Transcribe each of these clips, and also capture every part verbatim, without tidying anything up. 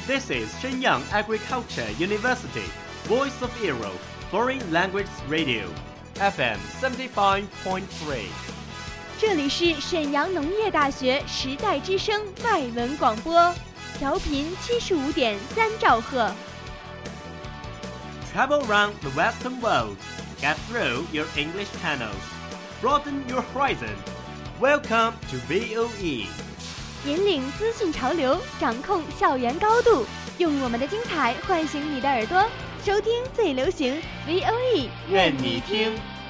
This is Shenyang Agriculture University, Voice of Europe, Foreign Language Radio, F M seventy-five point three. 这里是沈阳农业大学时代之声外文广播，调频七十五点三兆赫。 Travel around the Western world, get through your English channels, broaden your horizon. Welcome to V O E. 引领资讯潮流，掌控校园高度，用我们的精彩唤醒你的耳朵，收听最流行 V O E， 愿你听。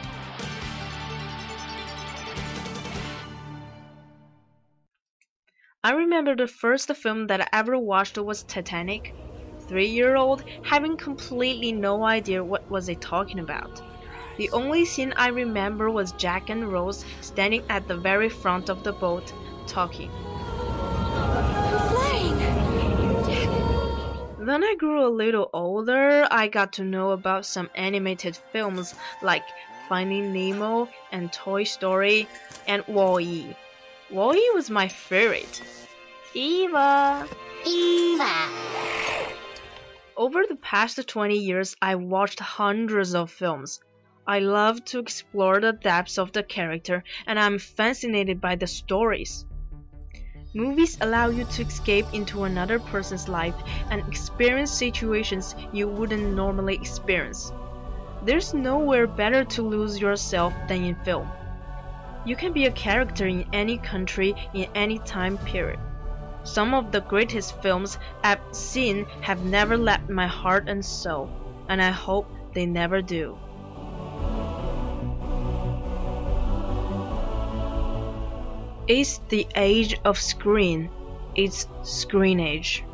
I remember the first film that I ever watched was Titanic. Three-year-old, having completely no idea what was it talking about. The only scene I remember was Jack and Rose standing at the very front of the boat, talking. Flying! Then I grew a little older. I got to know about some animated films like Finding Nemo and Toy Story and Wall-E. Wall-E was my favorite. Eva! Eva! Over the past twenty years, I watched hundreds of films. I love to explore the depths of the character, and I'm fascinated by the stories. Movies allow you to escape into another person's life and experience situations you wouldn't normally experience. There's nowhere better to lose yourself than in film. You can be a character in any country, in any time period. Some of the greatest films I've seen have never left my heart and soul, and I hope they never do. It's the age of screen. It's screen age.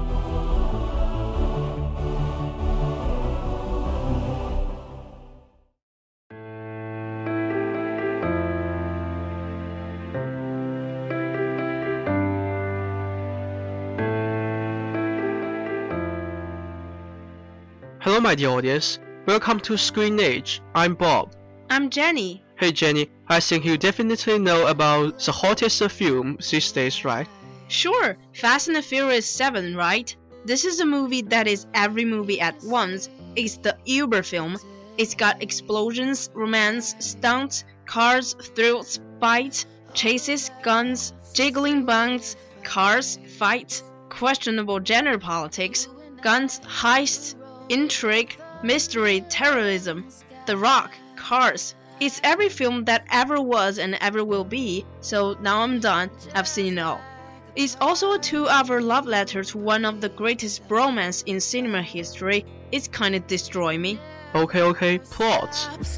Hello, my dear audience. Welcome to Screen Age. I'm Bob. I'm Jenny. Hey, Jenny. I think you definitely know about the hottest film these days, right? Sure, Fast and Furious seven, right? This is a movie that is every movie at once. It's the Uber film. It's got explosions, romance, stunts, cars, thrills, fights, chases, guns, jiggling bangs, cars, fights, questionable gender politics, guns, heists, intrigue, mystery, terrorism, The Rock, cars. It's every film that ever was and ever will be, so now I'm done, I've seen it all. It's also a two-hour love letter to one of the greatest bromance in cinema history. It's kinda destroy me. Okay, okay, plot.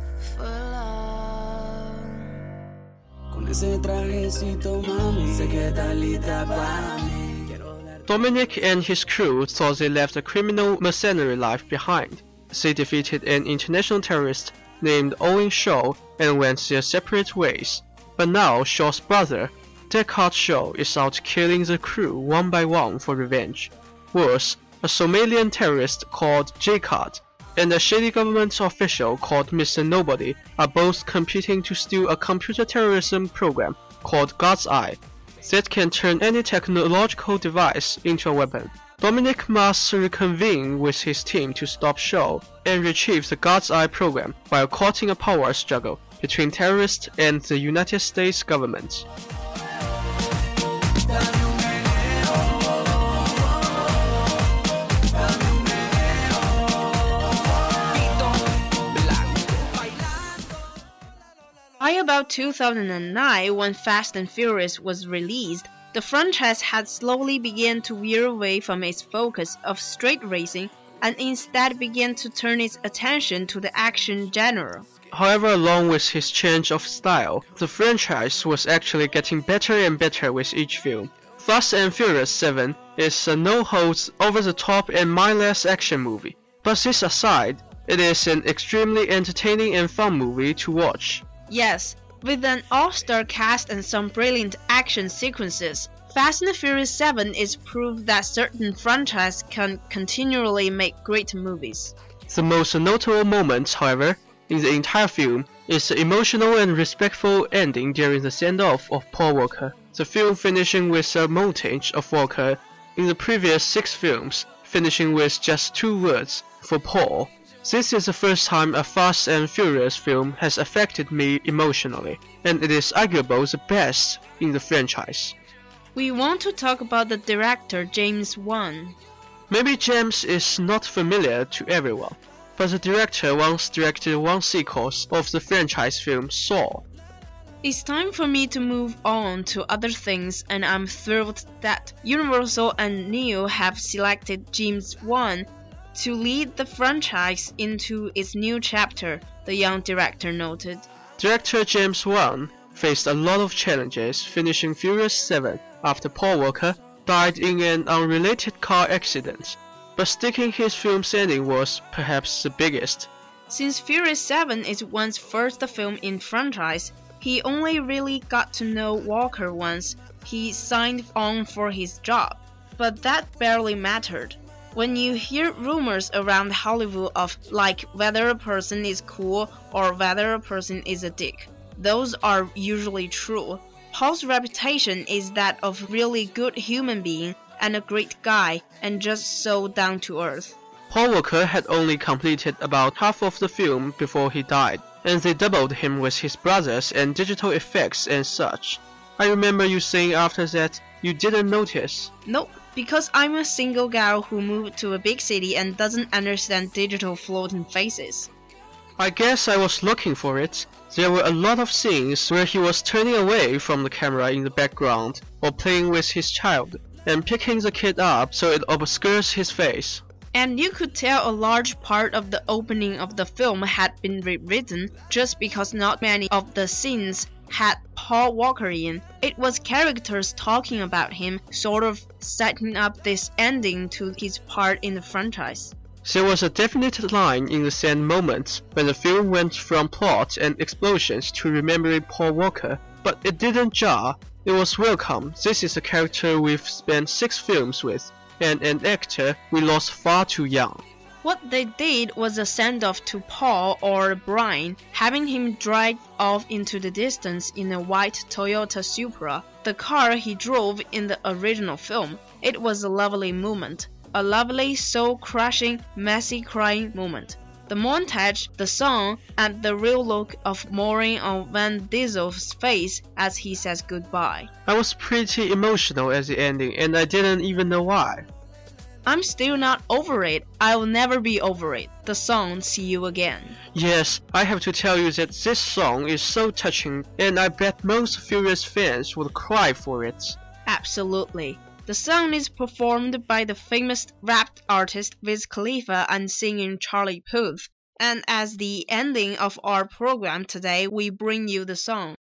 Dominic and his crew thought they left a criminal mercenary life behind. They defeated an international terrorist named Owen Shaw and went their separate ways. But now Shaw's brother, Deckard Shaw, is out killing the crew one by one for revenge. Worse, a Somalian terrorist called J-Card and a shady government official called Mister Nobody are both competing to steal a computer terrorism program called God's Eye that can turn any technological device into a weapon. Dominic must reconvene with his team to stop Shaw and retrieve the God's Eye program while caught in a power struggle between terrorists and the United States government. By about two thousand nine, when Fast and Furious was released, the franchise had slowly begun to veer away from its focus of street racing and instead began to turn its attention to the action genre. However, along with his change of style, the franchise was actually getting better and better with each film. Fast and Furious seven is a no-holds, over-the-top and mindless action movie. But this aside, it is an extremely entertaining and fun movie to watch. Yes, with an all-star cast and some brilliant action sequences, Fast and Furious seven is proof that certain franchises can continually make great movies. The most notable moment, however, in the entire film is the emotional and respectful ending during the send-off of Paul Walker. The film finishing with a montage of Walker in the previous six films, finishing with just two words, for Paul. This is the first time a Fast and Furious film has affected me emotionally, and it is arguably the best in the franchise. We want to talk about the director James Wan. Maybe James is not familiar to everyone, but the director once directed one sequel of the franchise film Saw. It's time for me to move on to other things, and I'm thrilled that Universal and Neo have selected James Wan to lead the franchise into its new chapter, the young director noted. Director James Wan faced a lot of challenges finishing Furious seven after Paul Walker died in an unrelated car accident, but sticking his film's ending was perhaps the biggest. Since Furious seven is Wan's first film in franchise, he only really got to know Walker once he signed on for his job, but that barely mattered. When you hear rumors around Hollywood of like whether a person is cool or whether a person is a dick, those are usually true. Paul's reputation is that of really good human being and a great guy and just so down to earth. Paul Walker had only completed about half of the film before he died, and they doubled him with his brothers and digital effects and such. I remember you saying after that you didn't notice. Nope, because I'm a single gal who moved to a big city and doesn't understand digital floating faces. I guess I was looking for it. There were a lot of scenes where he was turning away from the camera in the background, or playing with his child, and picking the kid up so it obscures his face. And you could tell a large part of the opening of the film had been rewritten just because not many of the scenes had Paul Walker in. It was characters talking about him, sort of setting up this ending to his part in the franchise. There was a definite line in the sand moment when the film went from plot and explosions to remembering Paul Walker, but it didn't jar. It was welcome. This is a character we've spent six films with, and an actor we lost far too young. What they did was a send-off to Paul or Brian, having him drive off into the distance in a white Toyota Supra, the car he drove in the original film. It was a lovely moment. A lovely, soul-crushing, messy crying moment. The montage, the song, and the real look of mourning on Vin Diesel's face as he says goodbye. I was pretty emotional at the ending, and I didn't even know why. I'm still not over it. I will never be over it. The song See You Again. Yes, I have to tell you that this song is so touching, and I bet most Furious fans would cry for it. Absolutely. The song is performed by the famous rap artist Wiz Khalifa and singing Charlie Puth. And as the ending of our program today, we bring you the song.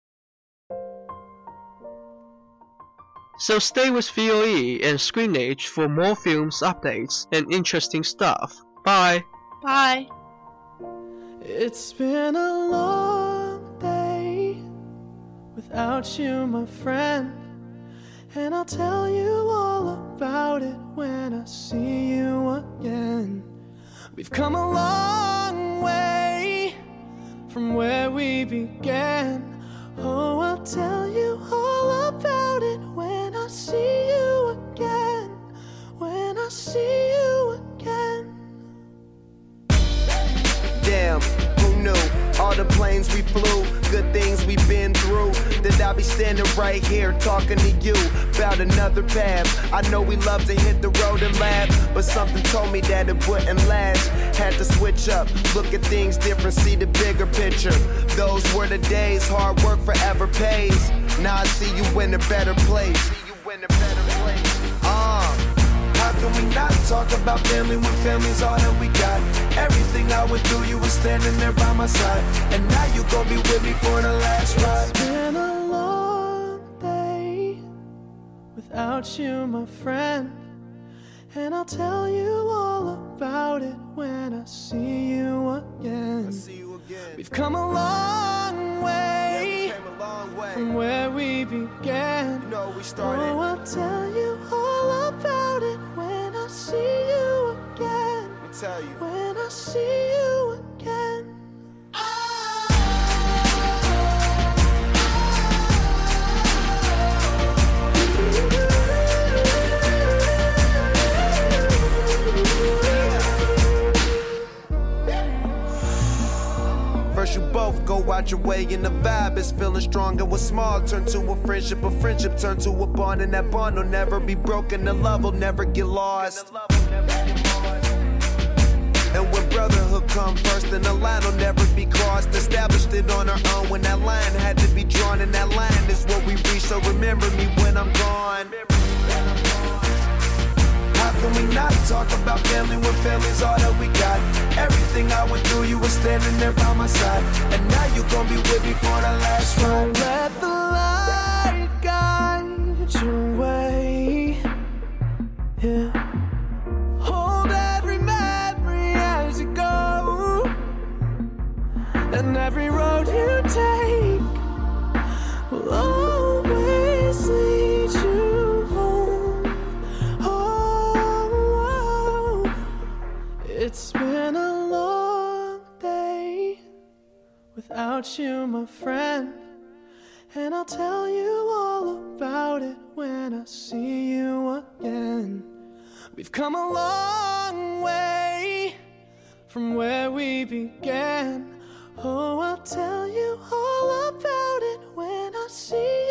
So stay with V O E and Screenage for more films updates and interesting stuff. Bye! Bye! It's been a long day without you, my friend. And I'll tell you all about it when I see you again. We've come a long way from where we began. Oh, I'll tell you all about it when I see you again. When I see you again. Damn, who knew? All the planes we flew, good things we've been through. That I'll be standing right here talking to you about another path. I know we love to hit the road and laugh, but something told me that it wouldn't last. Had to switch up, look at things different, see the bigger picture. Those were the days, hard work forever pays. Now I see you in a better place. See you in a better place. Uh, how can we not talk about family when family's all that we got? Everything I went through, you were standing there by my side, and now you gon' be with me for the last ride. It's been a long day without you, my friend. And I'll tell you all about it when I see you again. I see you again. We've come a long way, yeah, we came a long way from where we began. You know we started. Oh, I'll tell you all about it when I see you again. Let me tell you. When I see you again. find your way, and the vibe is feeling strong. And what's small turn to a friendship, a friendship turn to a bond, and that bond will never be broken, the love will never get lost. And when brotherhood come first, then the line will never be crossed. Established it on our own when that line had to be drawn, and that line is what we reach, so remember me when I'm gone. How can we not talk about family when family's all that we got? Everything I went through, you were standing there by my side, and now you gon' be with me for the last ride. Let the light guide your way. Yeah. Hold every memory as you go, and every road you take will always lead you home. Oh, it's been a long day without you, my friend, and I'll tell you all about it when I see you again. We've come a long way from where we began. Oh, I'll tell you all about it when I see